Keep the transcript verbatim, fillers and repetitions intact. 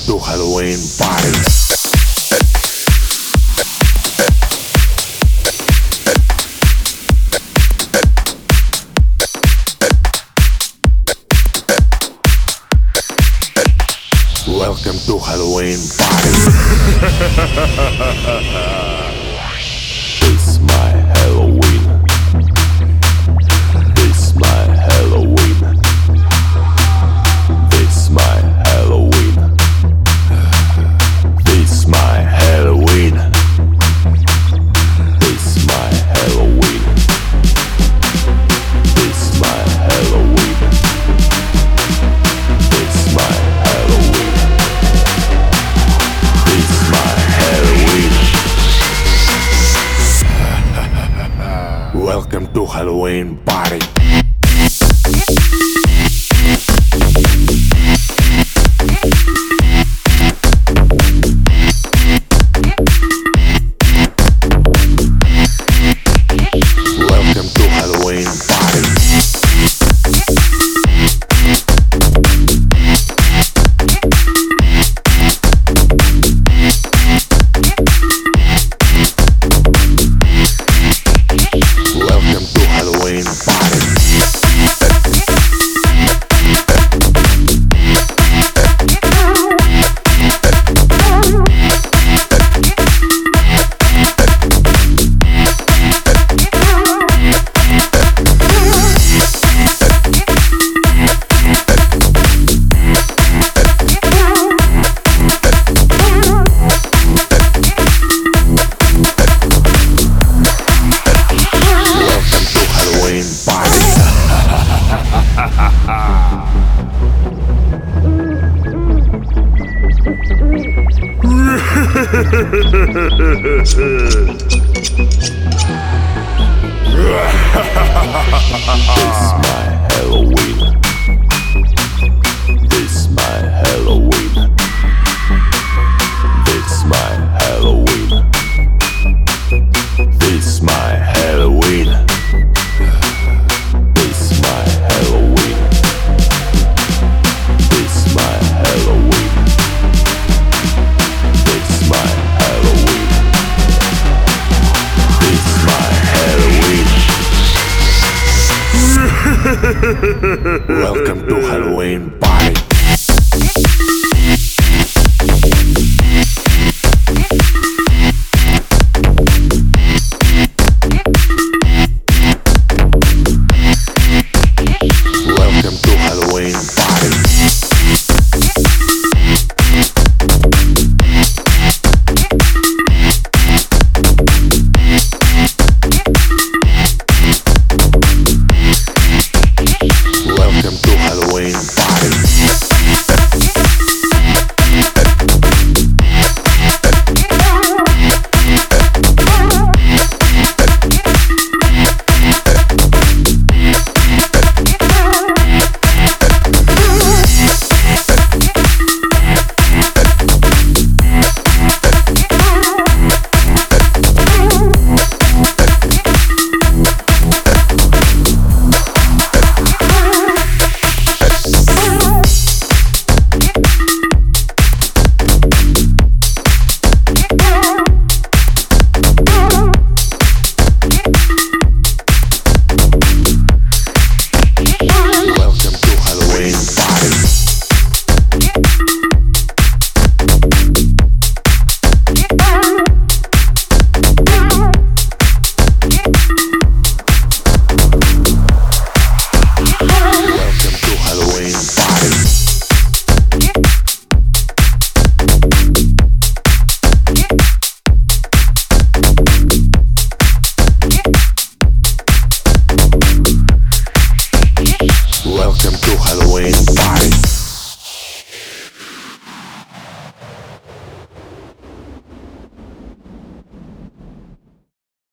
to Halloween party. Welcome to Halloween party. It's my Halloween. It's my Halloween. It's my Halloween. It's my Halloween. It's my Halloween. It's my Halloween. It's my Halloween. It's my Halloween. Welcome to Halloween party. Welcome to Halloween party. Welcome to Halloween party. It's my Halloween. It's my Halloween. It's my Halloween. It's my Halloween. It's my Halloween. It's my Halloween. It's my Halloween. It's my Halloween. Welcome to